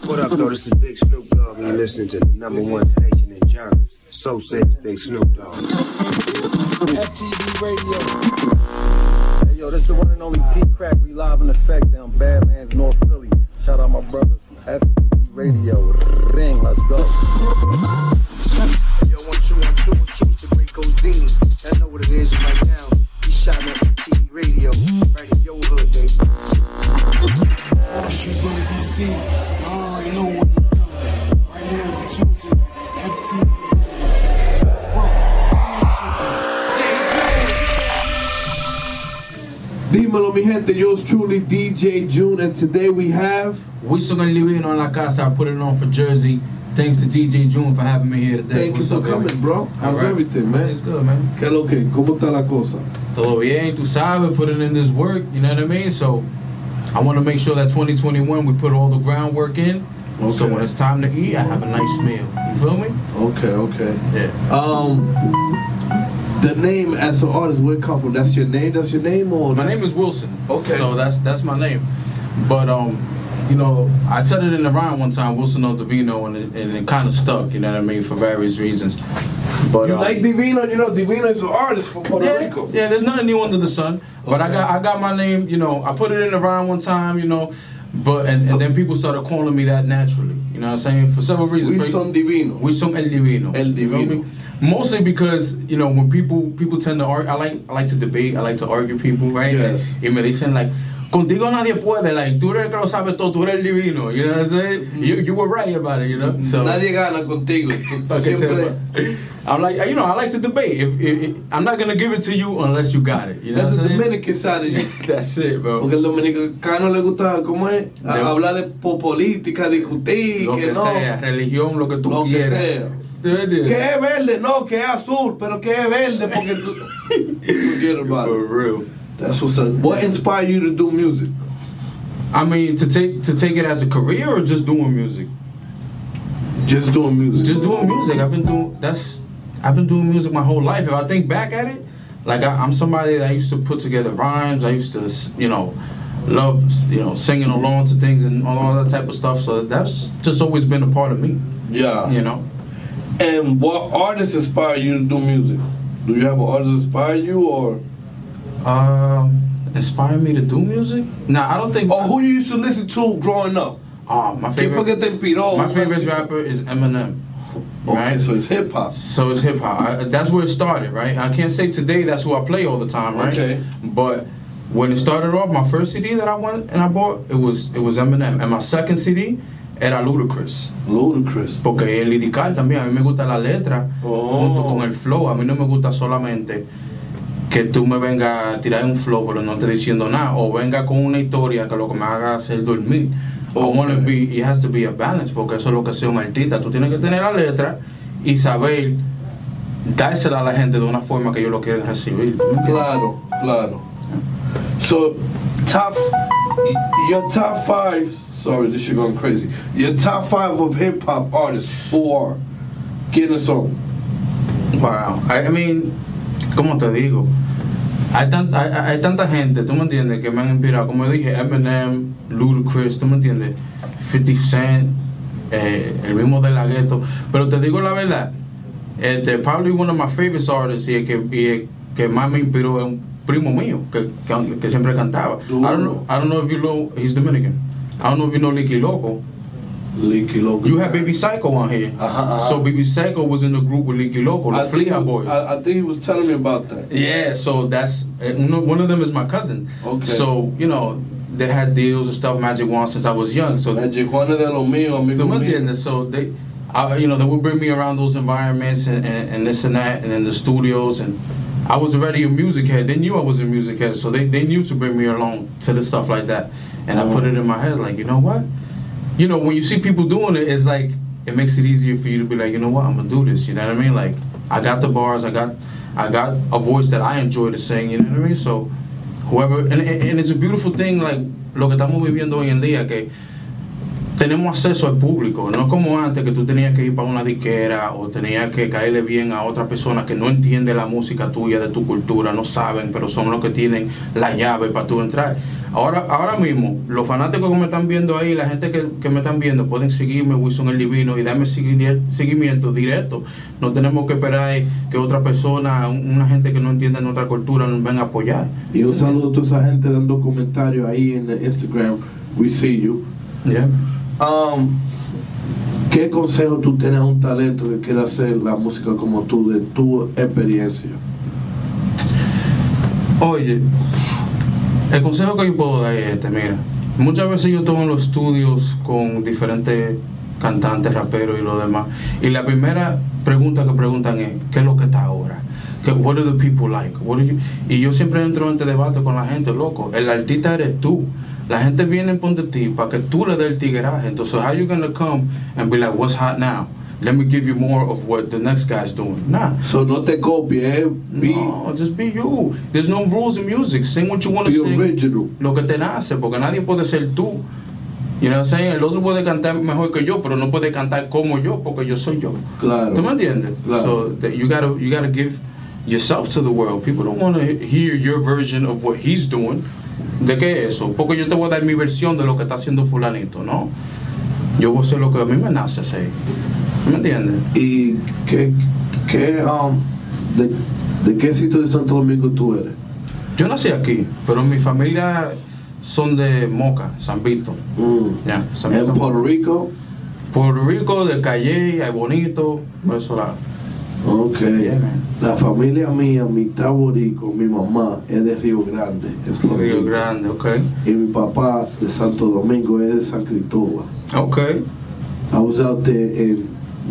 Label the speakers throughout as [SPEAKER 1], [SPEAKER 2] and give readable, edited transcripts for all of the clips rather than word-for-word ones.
[SPEAKER 1] What up, though? This is Big Snoop Dogg, and you're listening to the #1 station in Germans. So says Big Snoop Dogg.
[SPEAKER 2] FTV Radio. Hey, yo, this the one and only Pete Crack. We live in effect down Badlands, North Philly. Shout out my brothers from FTV Radio. Ring, let's go.
[SPEAKER 1] Yo, 1 2 1 2 1 2. It's the great Godini. I know what it is right now. He's shouting at FTV Radio. Right in your hood, baby.
[SPEAKER 3] You're gonna be seen. I already know what you're doing. Right now, you're tuned to FTV.
[SPEAKER 4] Dímelo, mi gente, yours truly, DJ June, and today we have
[SPEAKER 5] Wilson and Livino en la casa. I put it on for Jersey. Thanks to DJ June for having me here today.
[SPEAKER 4] Thank you for coming, bro. How's everything, man?
[SPEAKER 5] It's good, man.
[SPEAKER 4] ¿Qué lo que? ¿Cómo está la cosa?
[SPEAKER 5] Todo bien, tú sabes, putting in this work, you know what I mean? So, I want to make sure that 2021 we put all the groundwork in.
[SPEAKER 4] Okay.
[SPEAKER 5] So when it's time to eat, I have a nice meal. You feel me?
[SPEAKER 4] Okay.
[SPEAKER 5] Yeah.
[SPEAKER 4] The name as an artist, where it come from? That's your name? Or
[SPEAKER 5] My name is Wilson.
[SPEAKER 4] Okay.
[SPEAKER 5] So that's my name. But you know, I said it in the rhyme one time, Wilson O Divino, and it kind of stuck. You know what I mean, for various reasons. But
[SPEAKER 4] you like Divino? You know, Divino is an artist from Puerto Rico.
[SPEAKER 5] Yeah, there's nothing new under the sun. But
[SPEAKER 4] Okay.
[SPEAKER 5] I got my name. You know, I put it in the rhyme one time. You know, but and then people started calling me that naturally. You know what I'm saying? For several reasons.
[SPEAKER 4] Wilson Divino.
[SPEAKER 5] Wilson El Divino.
[SPEAKER 4] El
[SPEAKER 5] You feel
[SPEAKER 4] Divino.
[SPEAKER 5] me? Mostly because, you know, when people tend to argue, I like to debate, I like to argue people, right?
[SPEAKER 4] Yes.
[SPEAKER 5] Y me dicen like, contigo nadie puede, like, tú eres el que lo sabe todo, tú eres el divino, you know what I'm saying? You were right about it, you know? So,
[SPEAKER 4] Nadie gana contigo. Tú siempre...
[SPEAKER 5] I'm like, you know, I like to debate. If I'm not gonna give it to you unless you got it, you know
[SPEAKER 4] That's
[SPEAKER 5] what
[SPEAKER 4] the
[SPEAKER 5] I'm saying?
[SPEAKER 4] Dominican side of you.
[SPEAKER 5] That's it, bro.
[SPEAKER 4] Porque al dominicano le gusta, ¿cómo es? Hablar de política, discutir,
[SPEAKER 5] Lo que
[SPEAKER 4] no.
[SPEAKER 5] sea, religión, lo que tú
[SPEAKER 4] Lo que
[SPEAKER 5] quieras.
[SPEAKER 4] sea.
[SPEAKER 5] ¿Te entiendes?
[SPEAKER 4] Que es verde, no, que es azul, pero que es verde porque tú... Forget about
[SPEAKER 5] For
[SPEAKER 4] it.
[SPEAKER 5] real.
[SPEAKER 4] That's what's up. What inspired you to do music?
[SPEAKER 5] I mean, to take it as a career or just doing music?
[SPEAKER 4] Just doing music.
[SPEAKER 5] Just doing music. I've been doing music my whole life. If I think back at it, like I'm somebody that used to put together rhymes. I used to, you know, love, you know, singing along to things and all that type of stuff. So that's just always been a part of me.
[SPEAKER 4] Yeah.
[SPEAKER 5] You know.
[SPEAKER 4] And what artists inspire you to do music? Do you have an artist inspire you or?
[SPEAKER 5] Inspire me to do music? Nah, I don't think.
[SPEAKER 4] Or who you used to listen to growing up?
[SPEAKER 5] My
[SPEAKER 4] ¿Quién
[SPEAKER 5] favorite.
[SPEAKER 4] fue que te inspiró?
[SPEAKER 5] My favorite rapper is Eminem.
[SPEAKER 4] Okay,
[SPEAKER 5] Right?
[SPEAKER 4] so it's hip hop.
[SPEAKER 5] So it's hip hop. That's where it started, right? I can't say today that's who I play all the time, right?
[SPEAKER 4] Okay.
[SPEAKER 5] But when it started off, my first CD that I went and I bought, it was Eminem, and my second CD era Ludacris.
[SPEAKER 4] Ludacris.
[SPEAKER 5] Porque el lirical también, a mí me gusta la letra junto con el flow. A mí no me gusta solamente que tú me vengas a tirar un flow pero no te diciendo nada, o venga con una historia que lo que me haga hacer dormir. It has to be a balance, porque eso es lo que sea un artista. Tú tienes que tener la letra y saber dársela a la gente de una forma que ellos lo quieren recibir.
[SPEAKER 4] Claro. So, your top 5, sorry, this shit going crazy. Your top 5 of hip hop artists, who are? ¿Quiénes son?
[SPEAKER 5] Wow, I mean, ¿cómo te digo? Hay tanta gente, tú me entiendes, que me han inspirado. Como dije, Eminem, Ludacris, tú me entiendes, 50 Cent, el mismo De La Ghetto. Pero te digo la verdad, probably one of my favorite artists y el que más me inspiró es un primo mío que siempre cantaba. I don't know if you know, he's Dominican. I don't know if you know Licky Loco.
[SPEAKER 4] Licky Loco.
[SPEAKER 5] You had Baby Psycho on here. So Baby Psycho was in the group with Licky Loco, the Fleha Boys.
[SPEAKER 4] I think he was telling me about that.
[SPEAKER 5] Yeah, so that's one of them is my cousin.
[SPEAKER 4] Okay.
[SPEAKER 5] So you know they had deals and stuff, Magic Wand, since I was young. So
[SPEAKER 4] Magic Juan de lo mío, amigo mío.
[SPEAKER 5] So they, you know, they would bring me around those environments and this and that, and in the studios, and I was already a music head. They knew I was a music head, so they knew to bring me along to the stuff like that. And I put it in my head, like, you know what? You know, when you see people doing it, it's like, it makes it easier for you to be like, you know what, I'm gonna do this, you know what I mean? Like, I got the bars, I got a voice that I enjoy to sing, you know what I mean? So, whoever, and it's a beautiful thing, like, lo que estamos viviendo hoy en día, que tenemos acceso al público, no es como antes que tú tenías que ir para una disquera o tenías que caerle bien a otra persona que no entiende la música tuya, de tu cultura, no saben, pero son los que tienen la llave para tú entrar. Ahora mismo, los fanáticos que me están viendo ahí, la gente que me están viendo, pueden seguirme, Wilson el Divino, y darme seguimiento directo. No tenemos que esperar que otra persona, una gente que no entiende nuestra cultura, nos venga a apoyar.
[SPEAKER 4] Y un saludo a toda esa gente dando comentarios ahí en Instagram. We see you.
[SPEAKER 5] Yeah.
[SPEAKER 4] ¿Qué consejo tú tienes a un talento que quiere hacer la música como tú, de tu experiencia?
[SPEAKER 5] Oye, el consejo que yo puedo dar es mira, muchas veces yo estoy en los estudios con diferentes cantantes, raperos y lo demás, y la primera pregunta que preguntan es, ¿qué es lo que está ahora? What do the people like? Y yo siempre entro en este debate con la gente, loco, el artista eres tú. La gente viene por de ti para que tú le des el tigueraje. Entonces, how you gonna come and be like, what's hot now? Let me give you more of what the next guy's doing. Nah.
[SPEAKER 4] So no te copies,
[SPEAKER 5] No, just be you. There's no rules in music. Sing what you want to
[SPEAKER 4] be
[SPEAKER 5] sing.
[SPEAKER 4] original.
[SPEAKER 5] Lo que te nace, porque nadie puede ser tú. You know what I'm saying? El otro puede cantar mejor que yo, pero no puede cantar como yo, porque yo soy yo.
[SPEAKER 4] Claro.
[SPEAKER 5] ¿Tú me entiendes?
[SPEAKER 4] Claro.
[SPEAKER 5] So you gotta give yourself to the world. People don't want to hear your version of what he's doing. ¿De qué es eso? Porque yo te voy a dar mi versión de lo que está haciendo fulanito, ¿no? Yo voy a hacer lo que a mí me nace hacer. ¿Me entiendes?
[SPEAKER 4] ¿Y de qué sitio de Santo Domingo tú eres?
[SPEAKER 5] Yo nací aquí, pero mi familia son de Moca, San Vito. Ya, San
[SPEAKER 4] ¿En
[SPEAKER 5] Vito.
[SPEAKER 4] Puerto Rico?
[SPEAKER 5] Puerto Rico, del Calle, hay bonito, por eso la...
[SPEAKER 4] Ok.
[SPEAKER 5] Yeah, man.
[SPEAKER 4] La familia mía, mitad borico, mi mamá es de Río Grande, en Puerto
[SPEAKER 5] Río
[SPEAKER 4] Rico.
[SPEAKER 5] Grande, ok.
[SPEAKER 4] Y mi papá de Santo Domingo es de San Cristóbal.
[SPEAKER 5] Ok.
[SPEAKER 4] I was out there in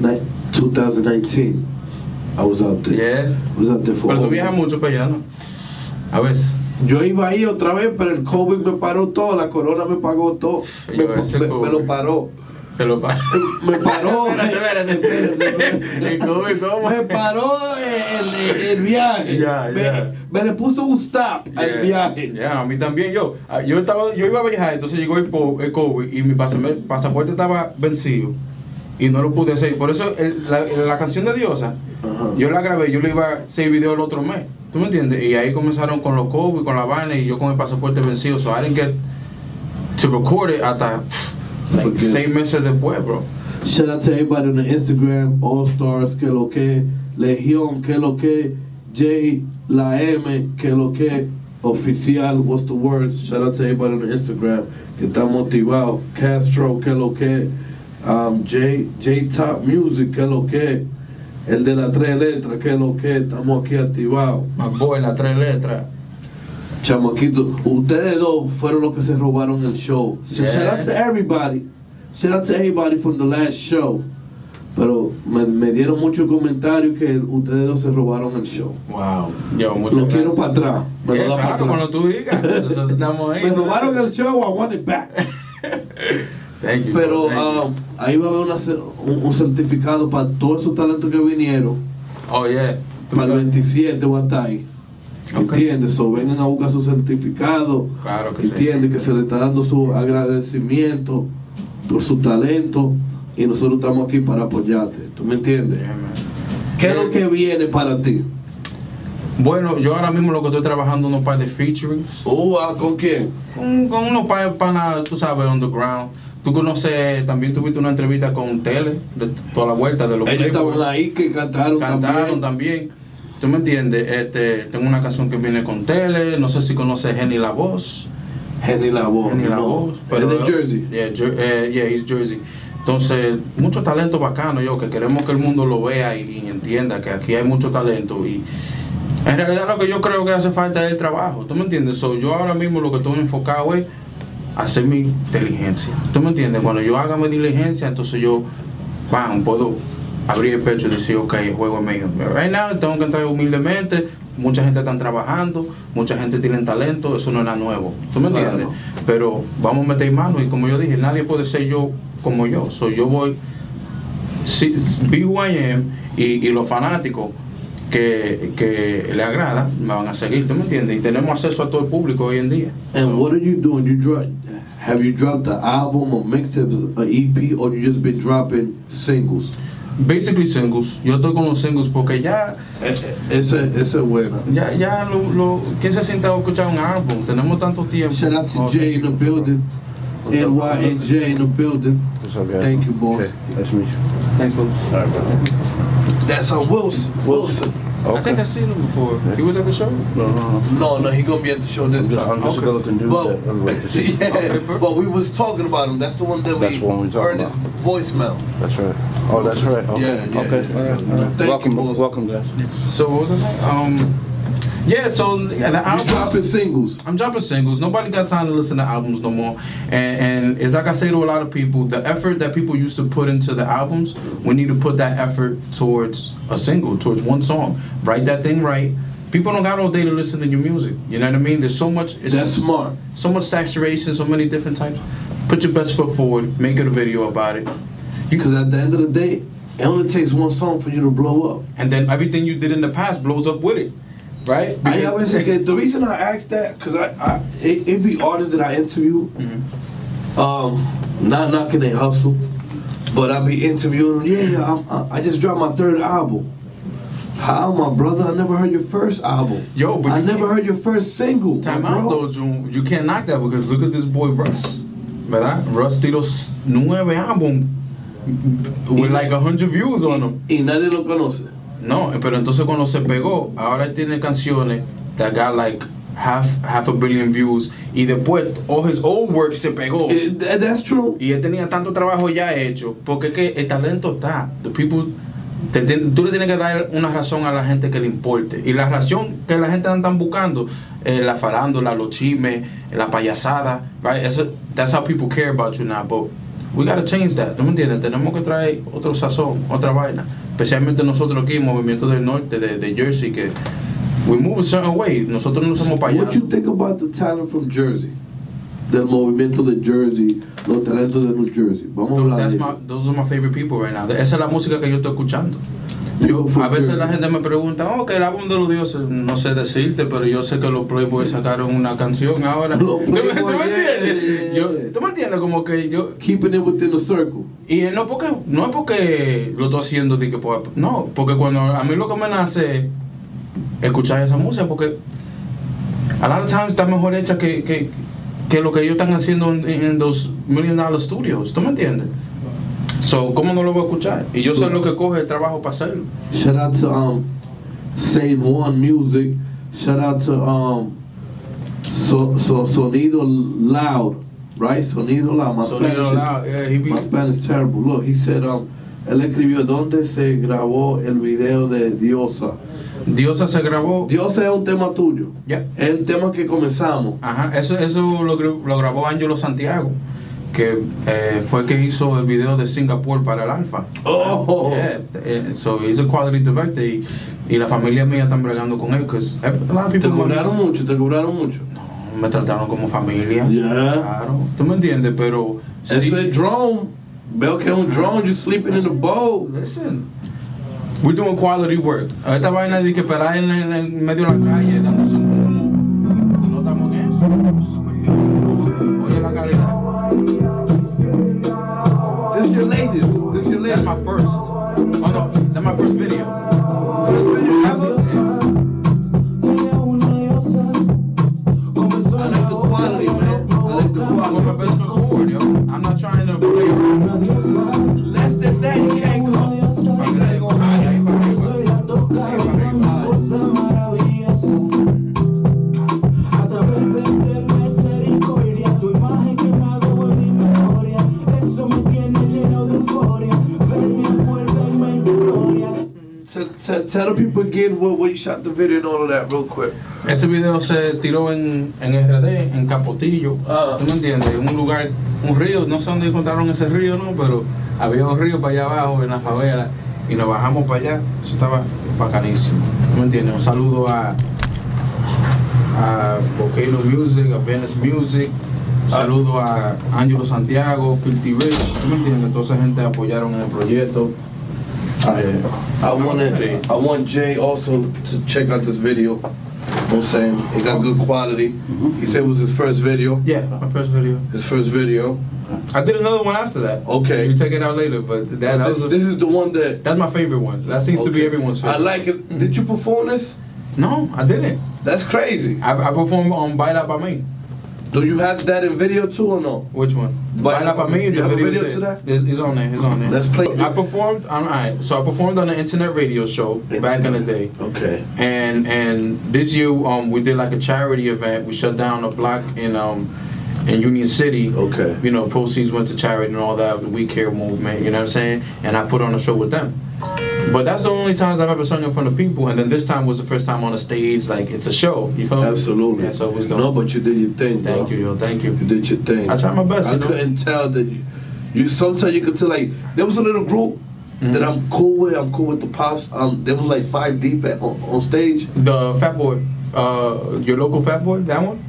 [SPEAKER 4] 2019. I was out there.
[SPEAKER 5] Yeah.
[SPEAKER 4] I was out there for
[SPEAKER 5] Pero tú
[SPEAKER 4] over-
[SPEAKER 5] viajas mucho para allá, ¿no? A veces.
[SPEAKER 4] Yo iba ahí otra vez, pero el COVID me paró todo, la corona me pagó todo.
[SPEAKER 5] Ese
[SPEAKER 4] Me
[SPEAKER 5] COVID.
[SPEAKER 4] lo paró.
[SPEAKER 5] Te lo pago.
[SPEAKER 4] Me paró.
[SPEAKER 5] Espérate. ¿Cómo?
[SPEAKER 4] Me paró el viaje.
[SPEAKER 5] Ya, ya.
[SPEAKER 4] Me le puso un stop al viaje.
[SPEAKER 5] Ya, a mí también. Yo iba a viajar, entonces llegó el COVID y mi pasaporte estaba vencido y no lo pude hacer. Por eso la canción de Diosa,
[SPEAKER 4] Ajá.
[SPEAKER 5] yo la grabé, yo le iba a hacer video el otro mes. ¿Tú me entiendes? Y ahí comenzaron con los COVID, con la vaina, y yo con el pasaporte vencido. So I didn't get to record it hasta like 6 meses después, bro.
[SPEAKER 4] Shout out to everybody on the Instagram, All Stars, que lo que, Legión, que lo que, J, la M, que lo que, oficial, what's the word? Shout out to everybody on the Instagram, que está motivado, Castro, que lo que, J Top Music, que lo que, el de las 3 letras, que lo que, estamos aquí activados.
[SPEAKER 5] My boy, las 3 letras.
[SPEAKER 4] Chamaquito, ustedes dos fueron los que se robaron el show. So
[SPEAKER 5] Yeah.
[SPEAKER 4] shout out to everybody. Shout out to everybody from the last show. Pero me dieron muchos comentarios que ustedes dos se robaron el show.
[SPEAKER 5] Wow. Yo, muchas
[SPEAKER 4] Lo quiero
[SPEAKER 5] gracias.
[SPEAKER 4] para atrás. Me
[SPEAKER 5] Yeah,
[SPEAKER 4] lo da para
[SPEAKER 5] claro,
[SPEAKER 4] atrás.
[SPEAKER 5] cuando tú digas. Nosotros estamos ahí.
[SPEAKER 4] Me robaron el show, I want it back.
[SPEAKER 5] Thank you,
[SPEAKER 4] Pero
[SPEAKER 5] bro, thank you.
[SPEAKER 4] ahí va a haber un certificado para todos esos talentos que vinieron.
[SPEAKER 5] Oh, yeah.
[SPEAKER 4] Para el 27 va a estar ahí.
[SPEAKER 5] Ok.
[SPEAKER 4] ¿Entiendes? So, vengan a buscar su certificado.
[SPEAKER 5] Claro que sí.
[SPEAKER 4] ¿Entiendes? Que se le está dando su agradecimiento por su talento y nosotros estamos aquí para apoyarte. ¿Tú me entiendes?
[SPEAKER 5] Yeah, man.
[SPEAKER 4] ¿Qué es lo que viene para ti?
[SPEAKER 5] Bueno, yo ahora mismo lo que estoy trabajando unos par de featurings.
[SPEAKER 4] ¿Con quién?
[SPEAKER 5] Con unos panas, tú sabes, underground. Tú conoces, también tuviste una entrevista con Tele, de toda la vuelta de los
[SPEAKER 4] Ellos
[SPEAKER 5] Playboys.
[SPEAKER 4] estaban ahí que cantaron
[SPEAKER 5] también. ¿Tú me entiendes? Tengo una canción que viene con Tele, no sé si conoces Henny La Voz.
[SPEAKER 4] Henny La Voz.
[SPEAKER 5] Henny La
[SPEAKER 4] no.
[SPEAKER 5] Voz.
[SPEAKER 4] Es de Jersey.
[SPEAKER 5] Yeah, he's Jersey. Entonces, mucho talento bacano, yo, que queremos que el mundo lo vea y entienda que aquí hay mucho talento. Y en realidad lo que yo creo que hace falta es el trabajo. ¿Tú me entiendes? Yo ahora mismo lo que estoy enfocado es hacer mi diligencia. ¿Tú me entiendes? Cuando yo haga mi diligencia, entonces yo, puedo abrir el pecho y decir, ok, el juego es mío. Right now, tengo que entrar humildemente. Mucha gente está trabajando, mucha gente tiene talento, eso no es nada nuevo. ¿Tú me entiendes?
[SPEAKER 4] Claro.
[SPEAKER 5] Pero vamos a meter mano y como yo dije, nadie puede ser yo como yo. Yo voy, be who I am, y los fanáticos que le agrada, me van a seguir, ¿tú me entiendes? Y tenemos acceso a todo el público hoy en día.
[SPEAKER 4] And what are you doing? Have you dropped the album or mixtape, or EP, or you just been dropping singles?
[SPEAKER 5] Basically singles. Yo estoy con los singles porque ya...
[SPEAKER 4] Esa es buena.
[SPEAKER 5] Ya ¿quién se sienta a escuchar un álbum? Tenemos tanto tiempo.
[SPEAKER 4] Shout out to Jay in the building. NYNJ in the building.
[SPEAKER 6] What's up, guys?
[SPEAKER 4] Thank you, boss.
[SPEAKER 6] Okay. Nice to meet you.
[SPEAKER 5] Thanks, bro.
[SPEAKER 6] All right, bro.
[SPEAKER 4] That's on Wilson.
[SPEAKER 5] I think I've seen him before. He was at the show?
[SPEAKER 4] No, he gonna be at the show this time.
[SPEAKER 6] I'm just a good-looking dude that everybody to see.
[SPEAKER 4] Yeah, but we was talking about him. That's the one that
[SPEAKER 6] That's the one we talking
[SPEAKER 4] heard his
[SPEAKER 6] about.
[SPEAKER 4] voicemail.
[SPEAKER 6] That's right. Oh, that's right. Okay.
[SPEAKER 4] Yeah.
[SPEAKER 6] Okay. All right.
[SPEAKER 4] Thank
[SPEAKER 6] Welcome,
[SPEAKER 4] you, boss.
[SPEAKER 6] welcome, guys.
[SPEAKER 5] So what was it? Yeah, so the
[SPEAKER 4] You
[SPEAKER 5] albums,
[SPEAKER 4] dropping singles.
[SPEAKER 5] I'm dropping singles. Nobody got time to listen to albums no more. And it's like I say to a lot of people, the effort that people used to put into the albums, we need to put that effort towards a single, towards one song. Write that thing right. People don't got all day to listen to your music. You know what I mean? There's so much.
[SPEAKER 4] That's smart.
[SPEAKER 5] So much saturation, so many different types. Put your best foot forward. Make it a video about it.
[SPEAKER 4] Because at the end of the day, it only takes one song for you to blow up.
[SPEAKER 5] And then everything you did in the past blows up with it. Right?
[SPEAKER 4] I always say, the reason I asked that, because it be artists that I interview, not knocking their hustle, but I be interviewing them. I just dropped my 3rd album. How, my brother? I never heard your first album.
[SPEAKER 5] Yo, but
[SPEAKER 4] I never heard your first single.
[SPEAKER 5] Time
[SPEAKER 4] bro.
[SPEAKER 5] out though, June. You can't knock that because look at this boy Russ. ¿Verdad? Russ tiró 9 álbumes with like 100 views on them.
[SPEAKER 4] Y nadie lo conoce.
[SPEAKER 5] No, pero entonces cuando se pegó, ahora tiene canciones that got like half a billion views y después all his old work se pegó.
[SPEAKER 4] That's true.
[SPEAKER 5] Y él tenía tanto trabajo ya hecho, porque es que el talento está. The people, tú le tienes que dar una razón a la gente que le importe. Y la razón que la gente están buscando, la farándula, los chismes, la payasada, right? That's how people care about you now, but we gotta change that, ¿no me entiendes? Tenemos que traer otro sazón, otra vaina. Especialmente nosotros aquí, Movimiento del Norte, de Jersey, que we move a certain way. Nosotros no somos payasos.
[SPEAKER 4] What you think about the talent from Jersey? Del movimiento de Jersey, los talentos de New Jersey. Vamos a hablar de
[SPEAKER 5] Those are my favorite people right now. Esa es la música que yo estoy escuchando. A veces la gente me pregunta, que el álbum de los dioses, no sé decirte, pero yo sé que los Playboys sacaron una canción ahora. ¿Tú me entiendes? ¿Tú me entiendes? Como que yo...
[SPEAKER 4] Keeping it within the circle.
[SPEAKER 5] Y no es porque lo estoy haciendo de que no, porque cuando a mí lo que me nace escuchar esa música, porque a lot of times está mejor hecha que lo que ellos están haciendo en los $1 million studios. ¿Tú me entiendes? So, ¿cómo no lo voy a escuchar? Y yo sé lo que coge el trabajo para hacerlo.
[SPEAKER 4] Shout out to Save One Music. Shout out to Sonido Loud, right? Sonido Loud. My Spanish is terrible. Look, he said él escribió ¿dónde se grabó el video de Diosa?
[SPEAKER 5] Diosa se grabó.
[SPEAKER 4] Diosa es un tema tuyo.
[SPEAKER 5] Yeah.
[SPEAKER 4] Es el tema que comenzamos.
[SPEAKER 5] Ajá, eso lo grabó Angelo Santiago, que fue el que hizo el video de Singapur para el Alfa.
[SPEAKER 4] Oh,
[SPEAKER 5] yeah. So he's a quality director y la familia mía están bregando con él.
[SPEAKER 4] ¿Te cobraron mucho?
[SPEAKER 5] No, me trataron como familia.
[SPEAKER 4] Yeah.
[SPEAKER 5] Claro. ¿Tú me entiendes? Pero
[SPEAKER 4] eso es drone. Veo que es un drone. You're sleeping in the boat.
[SPEAKER 5] Listen, we're doing quality work. Esta vaina de que esperar en medio de la calle dándose un no estamos en eso. Oye la calidad.
[SPEAKER 4] This is your latest.
[SPEAKER 5] That's my first. Oh no, that's my first video. I
[SPEAKER 4] like the quality, man.
[SPEAKER 5] I'm my best foot forward, yo. I'm not trying to play around.
[SPEAKER 4] Less than that, you can't go. You gotta go higher. Tell the people again where you shot the video and all of that real quick.
[SPEAKER 5] Ese video se tiró en RD, en Capotillo. ¿Tú me entiendes? En un lugar, un río, no sé dónde encontraron ese río, ¿no? Pero había un río para allá abajo, en la favela, y nos bajamos para allá. Eso estaba bacanísimo. ¿Tú me entiendes? Un saludo a Volcano Music, a Venice Music. Un saludo a Angelo Santiago, Filthy Rich. ¿Tú me entiendes? Toda esa gente apoyaron en el proyecto.
[SPEAKER 4] I want Jay also to check out this video. You know what I'm saying? It got good quality. He said it was his first video.
[SPEAKER 5] Yeah, my first video.
[SPEAKER 4] His first video.
[SPEAKER 5] I did another one after that.
[SPEAKER 4] Okay.
[SPEAKER 5] You check it out later, but
[SPEAKER 4] this is the one that...
[SPEAKER 5] That's my favorite one. That seems to be everyone's favorite.
[SPEAKER 4] I like it. Did you perform this?
[SPEAKER 5] No, I didn't.
[SPEAKER 4] That's crazy.
[SPEAKER 5] I performed on Baila Pa Mi.
[SPEAKER 4] Do you have that in video too or no?
[SPEAKER 5] Which one?
[SPEAKER 4] Baila Pa Mi. You have a video to that?
[SPEAKER 5] It's on there. It's on there.
[SPEAKER 4] Let's play.
[SPEAKER 5] I performed. Alright. So I performed on an internet radio show back in the day.
[SPEAKER 4] Okay.
[SPEAKER 5] And this year we did like a charity event. We shut down a block in Union City.
[SPEAKER 4] Okay.
[SPEAKER 5] You know, proceeds went to charity and all that, the We Care movement, you know what I'm saying? And I put on a show with them. But that's the only times I've ever sung in front of people, and then this time was the first time on a stage, like it's a show, you feel me?
[SPEAKER 4] Absolutely.
[SPEAKER 5] Yeah, so it was dope.
[SPEAKER 4] No, but you did your thing, bro.
[SPEAKER 5] Thank you, yo, thank you.
[SPEAKER 4] You did your thing.
[SPEAKER 5] I tried my best,
[SPEAKER 4] I couldn't tell that you sometimes you could tell, like, there was a little group that I'm cool with the Pops. There was like 5 deep on stage.
[SPEAKER 5] The Fat Boy, your local Fat Boy, that one?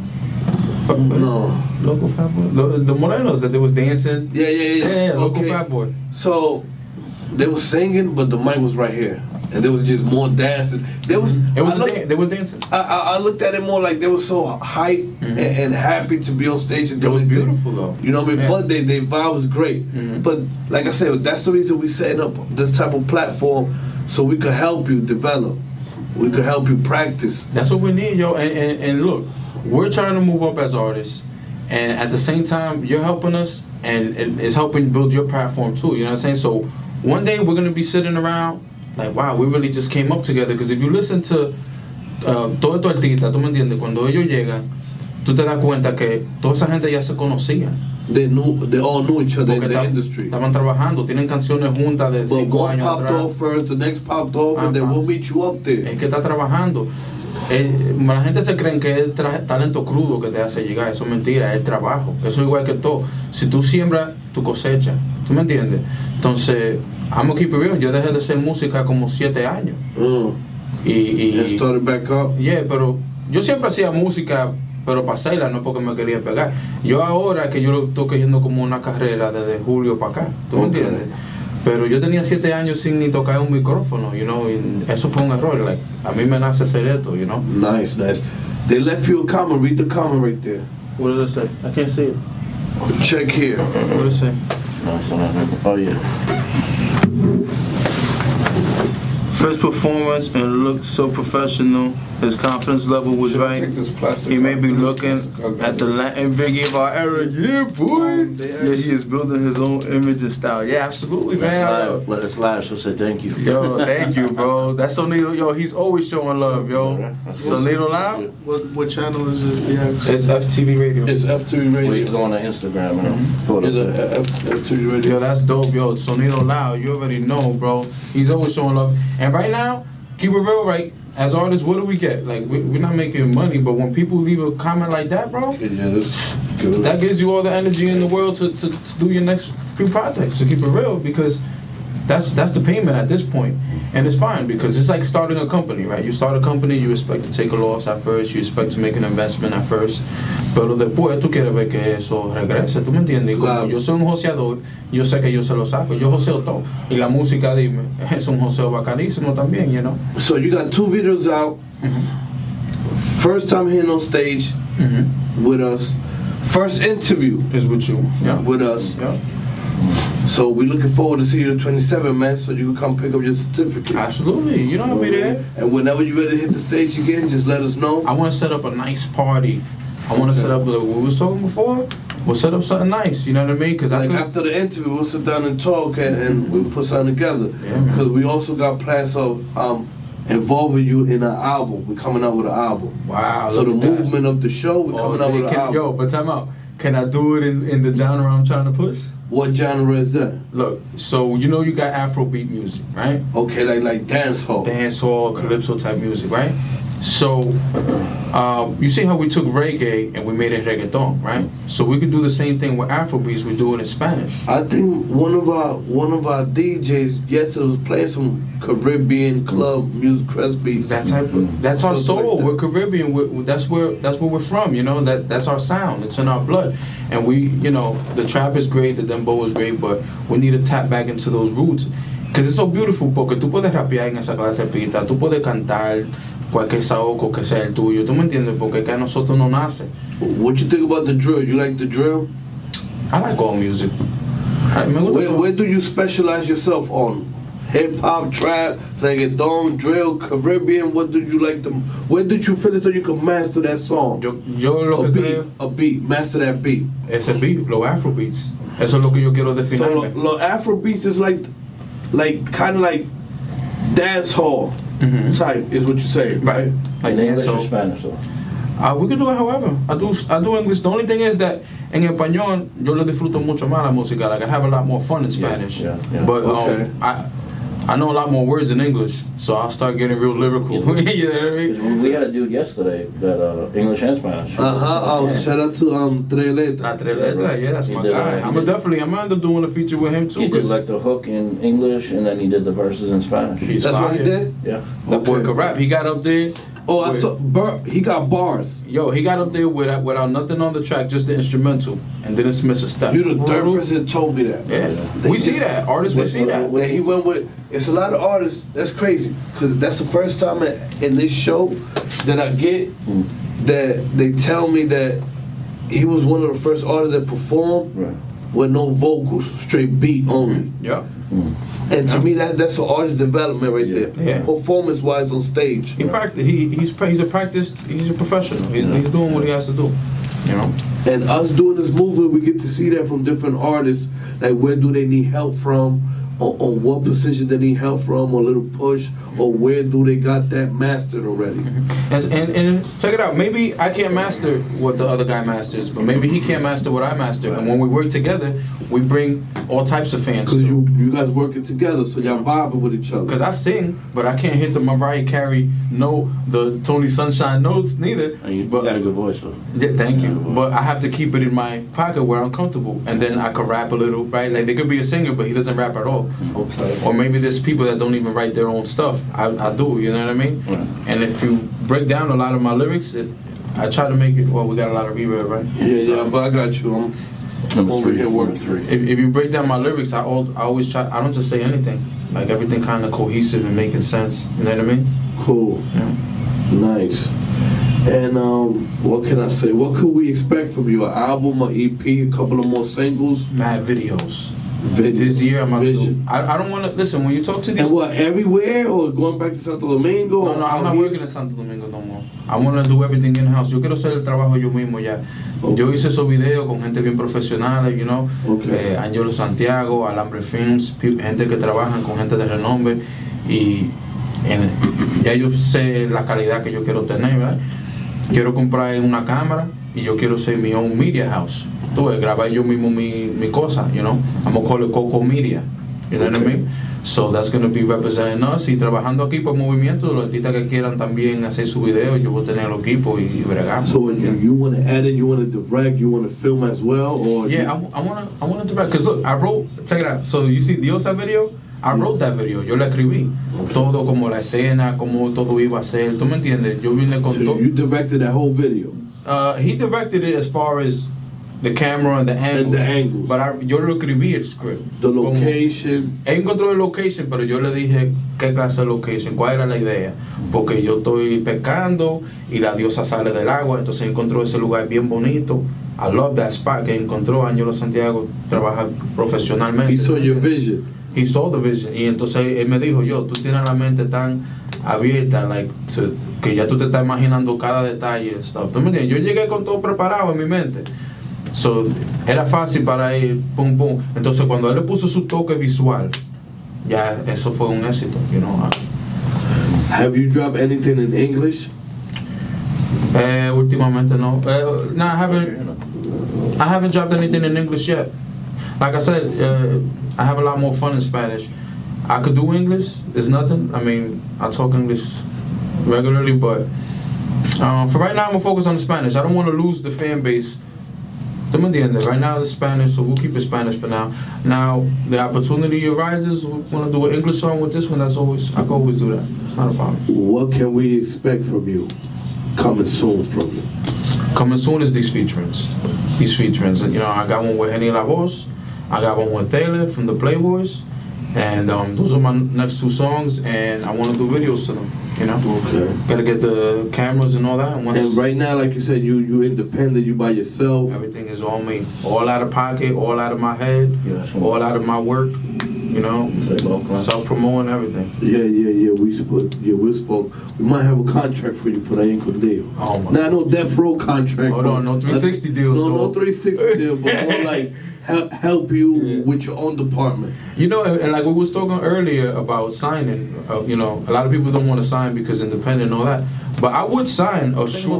[SPEAKER 4] No.
[SPEAKER 5] Local Fat Boy? The Morenos that they was dancing?
[SPEAKER 4] Yeah,
[SPEAKER 5] local
[SPEAKER 4] okay.
[SPEAKER 5] Fat Boy.
[SPEAKER 4] So, they was singing, but the mic was right here. And there was just more dancing. They were dancing. I looked at it more like they were so hyped and happy to be on stage. And
[SPEAKER 5] it was beautiful though.
[SPEAKER 4] You know what I mean? Yeah. But their vibe was great. But like I said, that's the reason we setting up this type of platform, so we could help you develop. We could help you practice.
[SPEAKER 5] That's what we need, yo. And look, we're trying to move up as artists. And at the same time, you're helping us, and it's helping build your platform too. You know what I'm saying? So one day we're gonna be sitting around like, wow, we really just came up together. Because if you listen to todo tu artista, tú me entiendes, cuando ellos llegan, tú te das cuenta que toda esa gente ya se conocía.
[SPEAKER 4] They all knew each other in the industry.
[SPEAKER 5] Estaban trabajando, tienen canciones juntas de 5
[SPEAKER 4] one
[SPEAKER 5] años
[SPEAKER 4] popped
[SPEAKER 5] atrás.
[SPEAKER 4] off first, the next popped off, and then we'll meet you up there.
[SPEAKER 5] Es que está trabajando. La gente se cree que es talento crudo que te hace llegar. Eso es mentira, es trabajo. Eso es igual que todo. Si tú siembras, tu cosecha. ¿Tú me entiendes? Entonces, I'm gonna keep it real. Yo dejé de hacer música como 7 años.
[SPEAKER 4] And started back up?
[SPEAKER 5] Yeah, pero yo siempre hacía música, pero para hacerla, no porque me quería pegar. Yo ahora que yo lo estoy cogiendo como una carrera desde julio para acá. ¿Tú me entiendes? Pero yo tenía 7 años sin ni tocar un micrófono, you know, y eso fue un error. Like, a mí me nace hacer esto, you know.
[SPEAKER 4] Nice. They left you a comment. Read the comment right there.
[SPEAKER 5] What does it say? I can't see it.
[SPEAKER 4] Check here.
[SPEAKER 5] What does it say?
[SPEAKER 6] Oh yeah.
[SPEAKER 5] First performance and looked so professional. His confidence level was right. He may be looking at the Latin Biggie of our era. Yeah, boy. Yeah, he is building his own image and style. Yeah, absolutely, man.
[SPEAKER 6] Let us live, so say thank you.
[SPEAKER 5] Yo, thank you, bro. That's Sonido. Yo, he's always showing love, yo. Sonido Live?
[SPEAKER 3] What channel is it? Yeah.
[SPEAKER 5] It's FTV Radio.
[SPEAKER 4] It's FTV Radio.
[SPEAKER 6] We go on Instagram and pull it up.
[SPEAKER 4] FTV Radio.
[SPEAKER 5] Yo, that's dope, yo. Sonido Loud, you already know, bro. He's always showing love. And right now, keep it real, right? As artists, what do we get? Like, we're not making money, but when people leave a comment like that, bro, that gives you all the energy in the world to do your next few projects, to keep it real, because that's the payment at this point. And it's fine, because it's like starting a company, right? You start a company, you expect to take a loss at first, you expect to make an investment at first, pero después tú quieres ver que eso regrese, ¿tú me entiendes? Y como yo soy un joseador, yo sé que yo se lo saco, yo joseo todo. Y la música, dime, es un joseo bacanísimo también, you know?
[SPEAKER 4] So you got 2 videos out. First time here on stage with us. First interview
[SPEAKER 5] is with you. Yeah.
[SPEAKER 4] With us.
[SPEAKER 5] Yeah.
[SPEAKER 4] So we're looking forward to see you the 27th, man, so you can come pick up your certificate.
[SPEAKER 5] Absolutely. You know I'll be there.
[SPEAKER 4] And whenever you're ready to hit the stage again, just let us know.
[SPEAKER 5] I want to set up a nice party. I want to set up, like we was talking before, we'll set up something nice, you know what I mean? Because
[SPEAKER 4] like after the interview, we'll sit down and talk and we'll put something together. Because we also got plans of involving you in an album. We're coming out with an album.
[SPEAKER 5] Wow.
[SPEAKER 4] So the movement of the show, we're coming out with an album.
[SPEAKER 5] Yo, but time out. Can I do it in the genre I'm trying to push?
[SPEAKER 4] What genre is that?
[SPEAKER 5] Look, so you know you got Afrobeat music, right?
[SPEAKER 4] Okay, like dancehall.
[SPEAKER 5] Dancehall, calypso type music, right? So, you see how we took reggae and we made it reggaeton, right? So we could do the same thing with Afrobeats. We do it in Spanish.
[SPEAKER 4] I think one of our DJs yesterday was playing some Caribbean club music, crest beats.
[SPEAKER 5] That type of, that's our soul. We're Caribbean. That's where we're from. You know, that's our sound. It's in our blood. And we, you know, the trap is great, the dembow is great, but we need to tap back into those roots. Because it's so beautiful, porque tú puedes rapear en esa clase de pista, tú puedes cantar cualquier saoco que sea el tuyo, ¿tú me entiendes? Porque que a nosotros no nace.
[SPEAKER 4] What you think about the drill? You like the drill?
[SPEAKER 5] I like all music. Me gusta todo.
[SPEAKER 4] Where do you specialize yourself on? Hip hop, trap, reggaeton, drill, Caribbean. What did you like them? Where did you feel as though you could master that song?
[SPEAKER 5] Yo lo que creo,
[SPEAKER 4] A beat, master that beat.
[SPEAKER 5] ese beat, los Afrobeats. Eso es lo que yo quiero
[SPEAKER 4] So
[SPEAKER 5] definir.
[SPEAKER 4] lo Afro beats is like kind of like dance hall type is what you say, right?
[SPEAKER 5] Like
[SPEAKER 6] In English
[SPEAKER 5] so,
[SPEAKER 6] or Spanish, though?
[SPEAKER 5] we can do it however. I do English. The only thing is that en español yo le disfruto mucho más la música. Like I have a lot more fun in Spanish.
[SPEAKER 6] yeah.
[SPEAKER 5] But
[SPEAKER 4] Okay.
[SPEAKER 5] I know a lot more words in English, so I'll start getting real lyrical. You know what I
[SPEAKER 6] 'Cause
[SPEAKER 5] mean?
[SPEAKER 6] we had a dude yesterday that English and Spanish.
[SPEAKER 4] Shout out to Tres Letras.
[SPEAKER 5] La Tres Letras, yeah, that's
[SPEAKER 6] He
[SPEAKER 5] my
[SPEAKER 6] did,
[SPEAKER 5] guy. I'm gonna end up doing a feature with him too.
[SPEAKER 6] He did
[SPEAKER 5] 'Cause
[SPEAKER 6] like the hook in English, and then he did the verses in Spanish.
[SPEAKER 5] he's
[SPEAKER 4] That's what he
[SPEAKER 5] fire.
[SPEAKER 4] did.
[SPEAKER 6] Yeah.
[SPEAKER 5] That boy
[SPEAKER 4] Okay.
[SPEAKER 5] could rap. He got up there.
[SPEAKER 4] Oh, I
[SPEAKER 5] with-
[SPEAKER 4] saw. He got bars.
[SPEAKER 5] Yo, he got up there without nothing on the track, just the instrumental, and didn't miss a step.
[SPEAKER 4] You the third person that told me that.
[SPEAKER 5] Yeah, we see that. Artists, we see that.
[SPEAKER 4] And he went with. It's a lot of artists. That's crazy because that's the first time in this show that I get that they tell me that he was one of the first artists that performed
[SPEAKER 6] Right.
[SPEAKER 4] with no vocals, straight beat only.
[SPEAKER 5] Yeah.
[SPEAKER 4] And to me, that's an artist development right there.
[SPEAKER 5] Yeah.
[SPEAKER 4] Performance wise on stage.
[SPEAKER 5] He practiced. He's a professional. He's doing what he has to do. You know.
[SPEAKER 4] And us doing this movement, we get to see that from different artists. Like where do they need help from, or what position they need help from, or a little push, or where do they got that mastered already.
[SPEAKER 5] And check it out. Maybe I can't master what the other guy masters, but maybe he can't master what I master. And when we work together, we bring all types of fans.
[SPEAKER 4] Because you guys working together, so y'all vibing with each other.
[SPEAKER 5] Because I sing, but I can't hit the Mariah Carey the Tony Sunshine notes neither.
[SPEAKER 6] And you
[SPEAKER 5] but
[SPEAKER 6] got a good voice, though.
[SPEAKER 5] yeah, thank you.
[SPEAKER 6] Yeah.
[SPEAKER 5] But I have to keep it in my pocket where I'm comfortable, and then I could rap a little, right? Like there could be a singer, but he doesn't rap at all.
[SPEAKER 4] Okay.
[SPEAKER 5] Or maybe there's people that don't even write their own stuff. I do, you know what I mean?
[SPEAKER 6] Right.
[SPEAKER 5] And if you break down a lot of my lyrics, I try to make it. Well, we got a lot of reverb, right?
[SPEAKER 4] Yeah, but I got you. I'm
[SPEAKER 6] Number
[SPEAKER 4] over
[SPEAKER 6] three.
[SPEAKER 4] here working.
[SPEAKER 5] If you break down my lyrics, I always try. I don't just say anything. Like everything kind of cohesive and making sense. You know what I mean?
[SPEAKER 4] Cool.
[SPEAKER 5] Yeah.
[SPEAKER 4] Nice. And what can I say? What could we expect from you? An album, an EP, a couple of more singles?
[SPEAKER 5] Mad videos.
[SPEAKER 4] Videos.
[SPEAKER 5] This year I'm gonna do.
[SPEAKER 4] Vision.
[SPEAKER 5] I don't want to listen when you talk to these.
[SPEAKER 4] And what, everywhere or going back to Santo Domingo?
[SPEAKER 5] No,
[SPEAKER 4] or
[SPEAKER 5] I'm
[SPEAKER 4] out
[SPEAKER 5] not
[SPEAKER 4] here?
[SPEAKER 5] working in Santo Domingo no more. I want to do everything in house. Yo quiero hacer el trabajo yo mismo ya. Yo hice esos videos con gente bien profesional, you know,
[SPEAKER 4] Okay.
[SPEAKER 5] Angelo Santiago, Alambre Films, gente que trabajan con gente de renombre y ya yo sé la calidad que yo quiero tener, ¿verdad? Quiero comprar una cámara y yo quiero ser mi own media house. Tú ves, grabar yo mismo mi cosa, you know. I'm gonna call it Coco Media. You know what I mean? So that's going to be representing us. Y trabajando aquí por movimiento, los artistas que quieran también hacer su video, yo voy a tener el equipo y bregamos.
[SPEAKER 4] So you want to edit, you want to direct, you want to film as well, or
[SPEAKER 5] Yeah, I wanna direct. Cause look, I wrote. Check it out. So you see Diosa video? I wrote that video. Yo la escribí. Todo como la escena, como todo iba a ser. ¿Tú me entiendes? Yo vine con
[SPEAKER 4] so
[SPEAKER 5] todo.
[SPEAKER 4] you directed that whole video.
[SPEAKER 5] He directed it as far as the camera and the angles.
[SPEAKER 4] the angles.
[SPEAKER 5] But yo lo escribí el script.
[SPEAKER 4] The
[SPEAKER 5] Como-
[SPEAKER 4] location.
[SPEAKER 5] Él encontró el location, pero yo le dije qué clase de location, cuál era la idea. Porque yo estoy pescando y la diosa sale del agua, entonces encontró ese lugar bien bonito. I love that spot que encontró. Angelo Santiago trabaja profesionalmente.
[SPEAKER 4] He saw your vision.
[SPEAKER 5] He saw the vision. Y entonces él me dijo, tú tienes la mente tan abierta, que ya tú te estás imaginando cada detalle and stuff. ¿Tú me entiendes? Yo llegué con todo preparado en mi mente. So, era fácil para él, pum, pum. Entonces, cuando él le puso su toque visual, ya eso fue un éxito, you know.
[SPEAKER 4] Have you dropped anything in English?
[SPEAKER 5] Últimamente no. No, I haven't dropped anything in English yet. Like I said, I have a lot more fun in Spanish. I could do English, it's nothing. I mean, I talk English regularly, but for right now, I'm gonna focus on the Spanish. I don't want to lose the fan base. ¿Tú me entiendes? Right now, it's Spanish, so we'll keep it Spanish for now. Now, the opportunity arises, we want to do an English song with this one. I can always do that. It's not a problem.
[SPEAKER 4] What can we expect from you? Coming soon from you.
[SPEAKER 5] Coming soon is these featurings. You know, I got one with Henny La Voz. I got one with Taylor from the Playboys. And those are my next 2 songs, and I want to do videos to them. You know,
[SPEAKER 4] Okay.
[SPEAKER 5] gotta get the cameras and all that. And once
[SPEAKER 4] And right now, like you said, you independent, you by yourself.
[SPEAKER 5] everything is on me, all out of pocket, all out of my head,
[SPEAKER 6] Yes.
[SPEAKER 5] all out of my work. You know, self-promoting everything.
[SPEAKER 4] Yeah. We spoke. We might have a contract for you por ahí en Condeo.
[SPEAKER 5] Oh my.
[SPEAKER 4] Not no death row contract.
[SPEAKER 5] Hold on, no 360 deals.
[SPEAKER 4] No,
[SPEAKER 5] though.
[SPEAKER 4] no 360 deal, but more like help you
[SPEAKER 5] Yeah.
[SPEAKER 4] with your own department.
[SPEAKER 5] You know, and like we was talking earlier about signing, you know, a lot of people don't want to sign because independent and all that. But I would sign. Tengo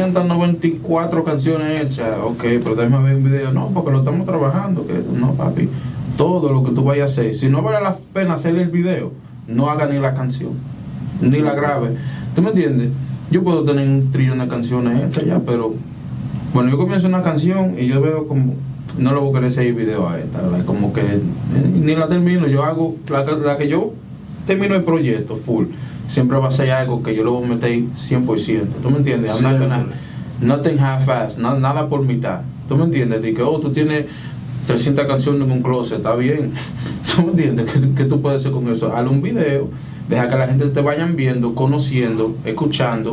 [SPEAKER 5] 394 canciones hechas. Ok, pero déjame ver un video. No, porque lo estamos trabajando. Que no, papi. Todo lo que tú vayas a hacer. Si no vale la pena hacer el video, no haga ni la canción. Ni la grabe. ¿Tú me entiendes? Yo puedo tener un trillón de canciones hechas ya, pero bueno, yo comienzo una canción y yo veo como no le voy a querer seguir video a esta, like, como que ni la termino. Yo hago la que yo termino el proyecto full, siempre va a ser algo que yo le voy a meter 100%. ¿Tú me entiendes? I'm not gonna, nothing half-ass, nada por mitad. ¿Tú me entiendes? De que tú tienes 300 canciones en un closet, está bien. ¿Tú me entiendes? ¿Qué tú puedes hacer con eso? Hazle un video, deja que la gente te vayan viendo, conociendo, escuchando.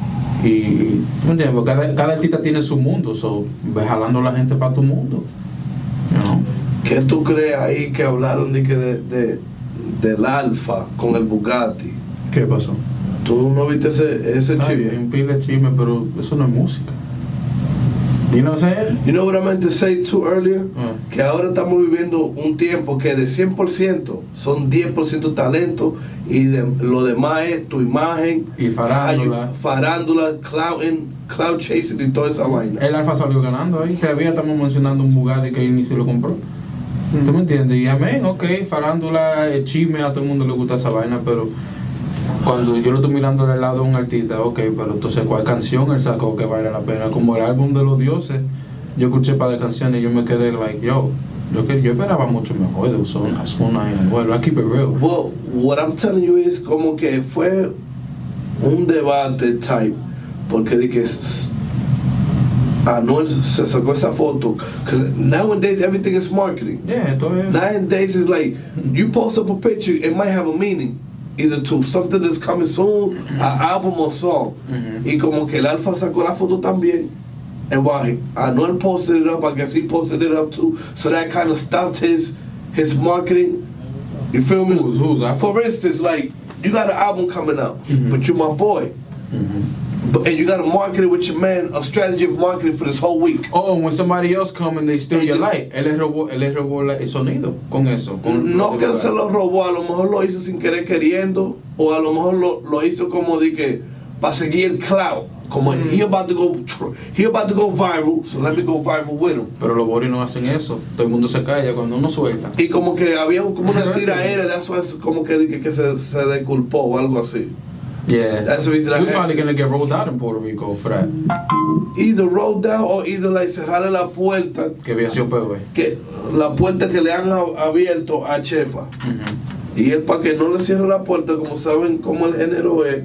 [SPEAKER 5] Y ¿tú me entiendes? Porque cada artista tiene su mundo, so ve jalando a la gente para tu mundo. You know?
[SPEAKER 4] ¿Qué tú crees ahí que hablaron de que del Alfa con el Bugatti?
[SPEAKER 5] ¿Qué pasó?
[SPEAKER 4] ¿Tú no viste ese
[SPEAKER 5] Está
[SPEAKER 4] chisme?
[SPEAKER 5] bien, pile de chisme, pero eso no es música. You know what I'm saying?
[SPEAKER 4] You know what I meant to say too earlier?
[SPEAKER 5] Mm.
[SPEAKER 4] Que ahora estamos viviendo un tiempo que de 100% son 10% talento y lo demás es tu imagen
[SPEAKER 5] Y farándula.
[SPEAKER 4] farándula, cloud chasing y toda esa vaina.
[SPEAKER 5] El Alfa salió ganando ahí. Todavía estamos mencionando un Bugatti que ni se lo compró. ¿Tú me entiendes? Y amén, ok, farándula, chisme, a todo el mundo le gusta esa vaina, pero cuando yo lo estoy mirando del lado de un artista, ok, pero entonces ¿cuál canción él sacó que vale la pena? Como el álbum de los dioses, yo escuché un par de canciones y yo me quedé like, yo esperaba mucho mejor de Ozuna y Anuel. I keep it real.
[SPEAKER 4] Well, what I'm telling you is como que fue un debate type, porque de que Anuel se sacó esa foto, because nowadays everything is marketing.
[SPEAKER 5] Yeah, esto es.
[SPEAKER 4] Nowadays it's like you post up a picture, it might have a meaning, either to something that's coming soon, an album or song. Y como que el Alfa sacó la foto también. And while Anuel posted it up, I guess he posted it up too. So that kind of stopped his marketing. You feel me?
[SPEAKER 5] Who's Alpha?
[SPEAKER 4] For instance, like you got an album coming out, but you're my boy. And you got to market it with your man, a strategy of marketing for this whole week.
[SPEAKER 5] Oh, when somebody else come and they steal
[SPEAKER 4] They
[SPEAKER 5] your
[SPEAKER 4] just-
[SPEAKER 5] light, él les robó el sonido con eso. Con
[SPEAKER 4] No que se lo robó, a lo mejor lo hizo sin querer queriendo, o a lo mejor lo hizo como de que para seguir el cloud. Como he about to go viral, so let me go viral with him.
[SPEAKER 5] Pero los boris no hacen eso. Todo el mundo se calla cuando uno suelta.
[SPEAKER 4] Y como que había como una tiraera de eso, es como que se disculpó o algo así.
[SPEAKER 5] Yeah.
[SPEAKER 4] That's the reason I
[SPEAKER 5] We're probably
[SPEAKER 4] asked.
[SPEAKER 5] gonna get rolled out in Puerto Rico for that.
[SPEAKER 4] Either roll down or either like cerrarle la puerta,
[SPEAKER 5] Que había sido peor.
[SPEAKER 4] que la puerta que le han abierto a Chepa. Y él para que no le cierre la puerta, como saben cómo el género es,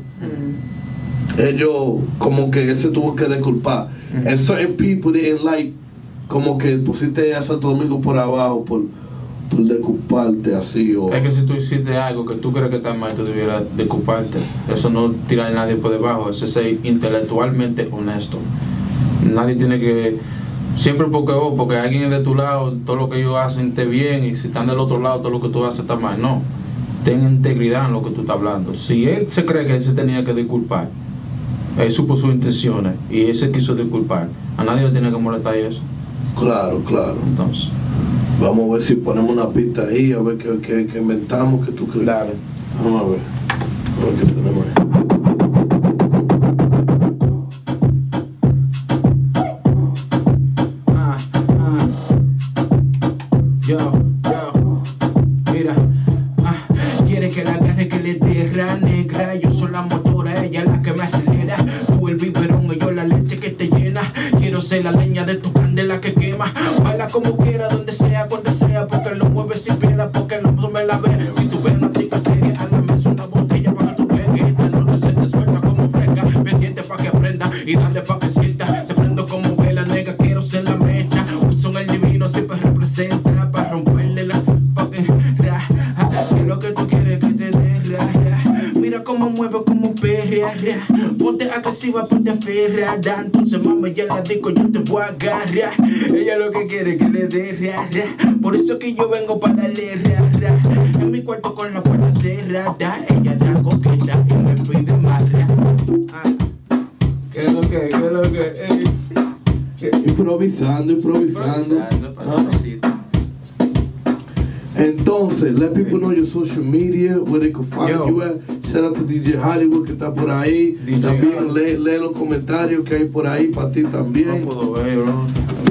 [SPEAKER 4] ellos como que él se tuvo que disculpar. And certain people didn't like, como que pusiste a Santo Domingo por abajo por disculparte así o...
[SPEAKER 5] Es que si tú hiciste algo que tú crees que está mal, tú debieras disculparte. Eso no tirar a nadie por debajo, eso es ser intelectualmente honesto. Nadie tiene que... Siempre porque alguien es de tu lado, todo lo que ellos hacen esté bien, y si están del otro lado, todo lo que tú haces está mal. No. Ten integridad en lo que tú estás hablando. Si él se cree que él se tenía que disculpar, él supo sus intenciones y él se quiso disculpar, a nadie le tiene que molestar eso.
[SPEAKER 4] Claro, claro.
[SPEAKER 5] Entonces,
[SPEAKER 4] Vamos a ver si ponemos una pista ahí, a ver qué inventamos, que tú crees.
[SPEAKER 5] dale.
[SPEAKER 4] Vamos a ver. A ver qué tenemos ahí.
[SPEAKER 5] Yo, mira, quiere que la agarre, que le dé ra negra. Yo soy la motora, ella la que me acelera. Tú el biberón y yo la leche que te llena. Quiero ser la leña de tu candela que quema. Baila como quiera, donde sea, cuando sea, porque lo mueves sin piedad, porque lo me la ve. Si tú ves una chica seria, a la mesa una botella para que tú veas que esta noche se te suelta como fresca. Pendiente pa' que aprenda y dale pa' que sienta. Se prendo como vela negra, quiero ser la mecha. Wilson el divino siempre representa pa' romperle la fucking ra. agarra. Ponte agresiva, ponte aferrada. Entonces mama ya la digo, yo te voy a agarrar. Ella lo que quiere es que le dé rara. Por eso que yo vengo para darle rara. En mi cuarto con la puerta cerrada. Ella está coqueta y me pide marra. ¿Qué es lo que? ¿Qué es lo que?
[SPEAKER 4] Improvisando. Entonces, let people know your social media, where they can find you at. Shout out to DJ Hollywood que está por ahí.
[SPEAKER 5] DJ
[SPEAKER 4] también lee los comentarios que hay por ahí para ti también.
[SPEAKER 5] No puedo ver, bro.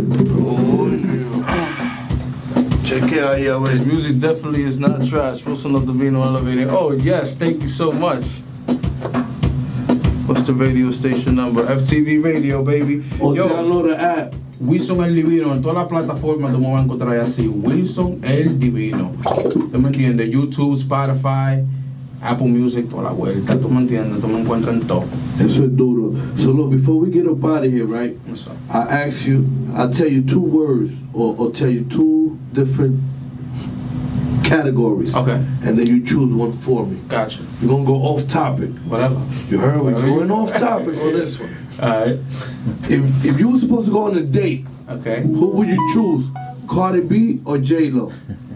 [SPEAKER 4] Cheque ahí a ver.
[SPEAKER 5] His music definitely is not trash. Wilson of Divino Elevator. Oh, yes, thank you so much. What's the radio station number? FTV Radio, baby.
[SPEAKER 4] O
[SPEAKER 5] Yo,
[SPEAKER 4] download the app.
[SPEAKER 5] Wilson el Divino. En todas las plataformas tú me vas a encontrar así. Wilson el Divino. ¿Tú me entiendes? YouTube, Spotify, Apple Music, toda la vuelta. ¿Tú me entiendes? Tú me encuentras en todo.
[SPEAKER 4] Eso es duro. So look, before we get up out of here, right?
[SPEAKER 5] What's up?
[SPEAKER 4] I'll tell you two words or tell you two different categories.
[SPEAKER 5] Okay.
[SPEAKER 4] And then you choose one for me.
[SPEAKER 5] Gotcha.
[SPEAKER 4] We're gonna go off topic.
[SPEAKER 5] Whatever.
[SPEAKER 4] You heard? We're
[SPEAKER 5] Whatever
[SPEAKER 4] going
[SPEAKER 5] you-
[SPEAKER 4] off topic on this one.
[SPEAKER 5] Alright.
[SPEAKER 4] If you were supposed to go on a date,
[SPEAKER 5] Okay.
[SPEAKER 4] who would you choose? Cardi B or J-Lo?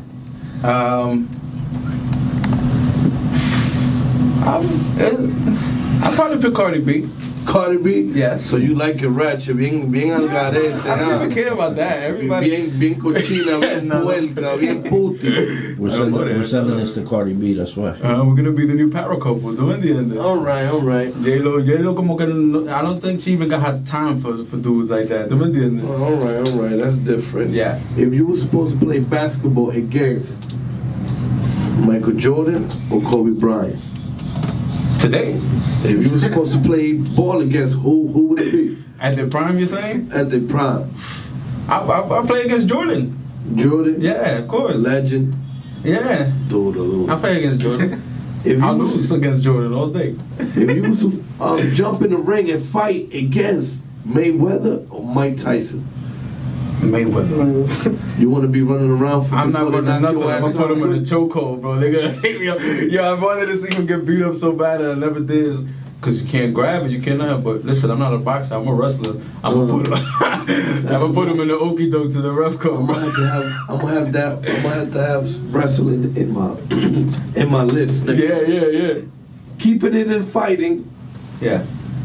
[SPEAKER 5] I'll probably pick Cardi B.
[SPEAKER 4] Cardi B?
[SPEAKER 5] Yes.
[SPEAKER 4] So you like your ratchet, bien algarete,
[SPEAKER 5] I don't even care about that. Everybody.
[SPEAKER 4] bien cochina, bien
[SPEAKER 5] No.
[SPEAKER 4] puerca, bien puti.
[SPEAKER 6] We're sending this to Cardi B, that's why.
[SPEAKER 5] We're gonna be the new power couple. ¿Tú me entiendes?
[SPEAKER 4] All right.
[SPEAKER 5] J-Lo como que no, I don't think she even got time for dudes like that. ¿Tú me entiendes?
[SPEAKER 4] All right. That's different.
[SPEAKER 5] Yeah.
[SPEAKER 4] If you were supposed to play basketball against Michael Jordan or Kobe Bryant,
[SPEAKER 5] Today,
[SPEAKER 4] if you were supposed to play ball against who would it be?
[SPEAKER 5] at the prime, you're saying?
[SPEAKER 4] At the prime,
[SPEAKER 5] I play against Jordan.
[SPEAKER 4] Jordan,
[SPEAKER 5] Yeah, of course.
[SPEAKER 4] legend,
[SPEAKER 5] Yeah,
[SPEAKER 4] dude.
[SPEAKER 5] I play against Jordan.
[SPEAKER 4] If
[SPEAKER 5] I'll
[SPEAKER 4] you
[SPEAKER 5] lose
[SPEAKER 4] was,
[SPEAKER 5] against Jordan all day.
[SPEAKER 4] if you was to jump in the ring and fight against Mayweather or Mike Tyson,
[SPEAKER 5] Mayweather.
[SPEAKER 4] you want to be running around for
[SPEAKER 5] I'm not
[SPEAKER 4] before they
[SPEAKER 5] running
[SPEAKER 4] knock
[SPEAKER 5] nothing.
[SPEAKER 4] your
[SPEAKER 5] I'm
[SPEAKER 4] ass
[SPEAKER 5] gonna put him
[SPEAKER 4] out?
[SPEAKER 5] in a chokehold, bro. They're gonna take me up. Yo, I wanted to see him get beat up so bad and I never did. Cause you can't grab it, you cannot. But listen, I'm not a boxer. I'm a wrestler. I'm gonna put him in the okie doke to the ref code.
[SPEAKER 4] I'm gonna have to have wrestling in my list. Next time.
[SPEAKER 5] Yeah.
[SPEAKER 4] Keeping it in fighting.
[SPEAKER 5] Yeah.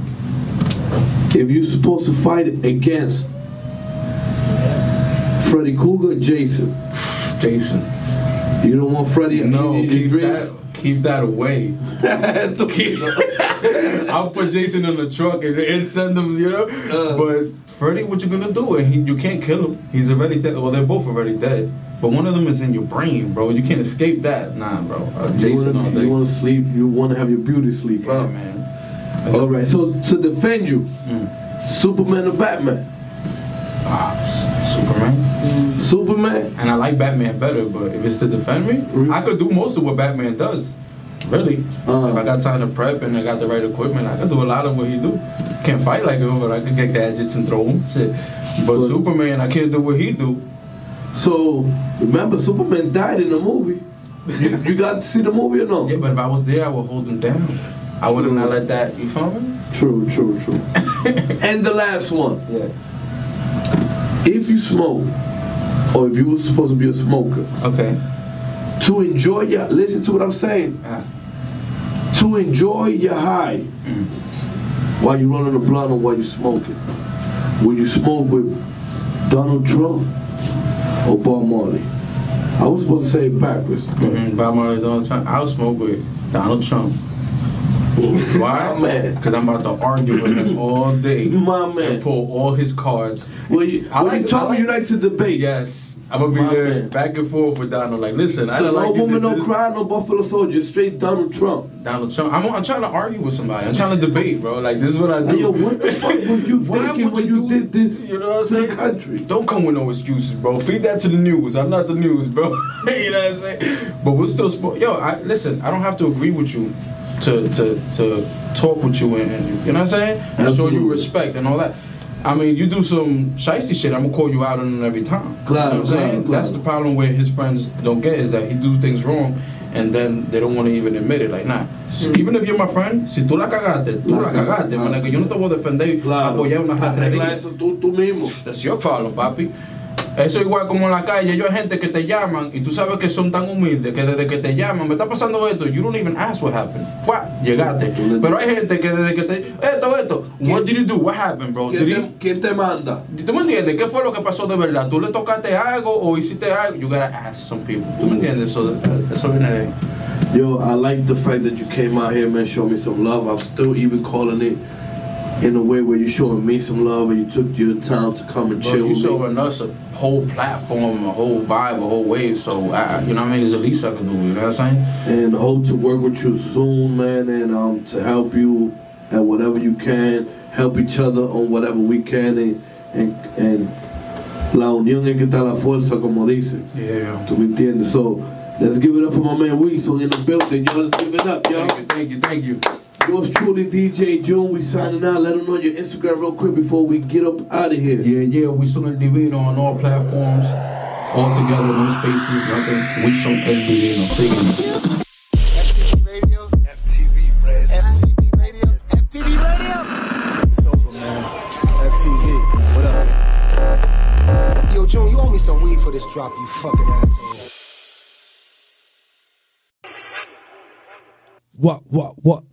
[SPEAKER 4] If you're supposed to fight against Freddy Krueger or Jason, you don't want Freddy
[SPEAKER 5] No,
[SPEAKER 4] in your dreams?
[SPEAKER 5] keep that away. I'll put Jason in the truck and send him, you know. But Freddy, what you gonna do? And you can't kill him. He's already dead. Well, they're both already dead. But one of them is in your brain, bro. You can't escape that. Nah, bro. Jason all day.
[SPEAKER 4] You want to sleep? You want to have your beauty sleep?
[SPEAKER 5] Yeah,
[SPEAKER 4] Huh?
[SPEAKER 5] man.
[SPEAKER 4] All right. So to defend you, Superman or Batman?
[SPEAKER 5] Superman.
[SPEAKER 4] Superman.
[SPEAKER 5] And I like Batman better, but if it's to defend me, I could do most of what Batman does. Really. If I got time to prep and I got the right equipment, I could do a lot of what he do. Can't fight like him, but I could get gadgets and throw them. Shit. But Superman, I can't do what he do.
[SPEAKER 4] So remember, Superman died in the movie. You got to see the movie or no?
[SPEAKER 5] Yeah, but if I was there, I would hold him down. I would have not let that. You feel me?
[SPEAKER 4] True. And the last one.
[SPEAKER 5] Yeah.
[SPEAKER 4] If you smoke, or if you were supposed to be a smoker,
[SPEAKER 5] Okay.
[SPEAKER 4] to enjoy your, listen to what I'm saying, to enjoy your high while you're running a blunt or while you're smoking, will you smoke with Donald Trump or Bob Marley? I was supposed to say it backwards.
[SPEAKER 5] Bob Marley, Donald Trump. I'll smoke with Donald Trump. Why?
[SPEAKER 4] My man.
[SPEAKER 5] Because I'm about to argue with him all day.
[SPEAKER 4] My man.
[SPEAKER 5] And pull all his cards.
[SPEAKER 4] Well, you told me you like to debate.
[SPEAKER 5] Yes. I'm gonna be
[SPEAKER 4] My
[SPEAKER 5] there
[SPEAKER 4] man.
[SPEAKER 5] back and forth with Donald. Like, listen, I
[SPEAKER 4] So
[SPEAKER 5] don't
[SPEAKER 4] no
[SPEAKER 5] like you
[SPEAKER 4] woman,
[SPEAKER 5] did
[SPEAKER 4] no
[SPEAKER 5] this.
[SPEAKER 4] cry, no Buffalo Soldier, straight Donald Trump.
[SPEAKER 5] Donald Trump. I'm trying to argue with somebody. I'm trying to debate, bro. Like, this is what I do.
[SPEAKER 4] Hey, yo, what the fuck was you
[SPEAKER 5] Why
[SPEAKER 4] thinking
[SPEAKER 5] would
[SPEAKER 4] when you
[SPEAKER 5] do-
[SPEAKER 4] did this
[SPEAKER 5] You know what I'm
[SPEAKER 4] to the
[SPEAKER 5] saying?
[SPEAKER 4] country?
[SPEAKER 5] Don't come with no excuses, bro. Feed that to the news. I'm not the news, bro. You know what I'm saying? But we're still listen, I don't have to agree with you to talk with you and you know what I'm saying? And show
[SPEAKER 4] Absolutely.
[SPEAKER 5] you respect and all that. I mean, you do some shiesty shit, I'm gonna call you out on it every time.
[SPEAKER 4] Claro,
[SPEAKER 5] you know what I'm saying?
[SPEAKER 4] claro.
[SPEAKER 5] That's the problem where his friends don't get, is that he do things wrong and then they don't want to even admit it. Like, nah. Even if you're my friend, si tú la cagaste, tú la cagaste, man. Yo no te voy a defender, apoyar una
[SPEAKER 4] Arregla
[SPEAKER 5] rastrería.
[SPEAKER 4] eso tú mismo.
[SPEAKER 5] That's your problem, papi. Eso igual como en la calle, yo hay gente que te llaman y tú sabes que son tan humildes que desde que te llaman, me está pasando esto, you don't even ask what happened. Fua, llegaste. Pero hay gente que desde que te, esto, what did you do? What happened, bro?
[SPEAKER 4] ¿Quién te manda?
[SPEAKER 5] ¿Tú me entiendes? ¿Qué fue lo que pasó de verdad? ¿Tú le tocaste algo o hiciste algo? You gotta ask some people. ¿Tú me entiendes? So eso viene de ahí.
[SPEAKER 4] Yo, I like the fact that you came out here, man, show me some love. I'm still even calling it in a way where you're showing me some love and you took your time to come and
[SPEAKER 5] Bro,
[SPEAKER 4] chill
[SPEAKER 5] you
[SPEAKER 4] with me.
[SPEAKER 5] showing us a whole platform, a whole vibe, a whole wave. So, you know what I mean? It's the least I can do. You know what I'm saying?
[SPEAKER 4] And hope to work with you soon, man, and to help you at whatever you can, help each other on whatever we can, and la unión es que está la fuerza, como dice.
[SPEAKER 5] Yeah.
[SPEAKER 4] ¿Tú me entiendes? So, let's give it up for my man Weasel in the building, yo. Let's give it up, yo.
[SPEAKER 5] Thank you.
[SPEAKER 4] Yours truly, DJ June. We signing out. Let them know your Instagram real quick before we get up out of here.
[SPEAKER 5] Yeah, we son el divino on all platforms, all together, no spaces, nothing. We son el divino. Síguenos.
[SPEAKER 1] FTV Radio. FTV Radio. FTV Radio. FTV Radio.
[SPEAKER 2] It's over, man. FTV. What up?
[SPEAKER 1] Yo, June, you owe me some weed for this drop, you fucking asshole.
[SPEAKER 7] What?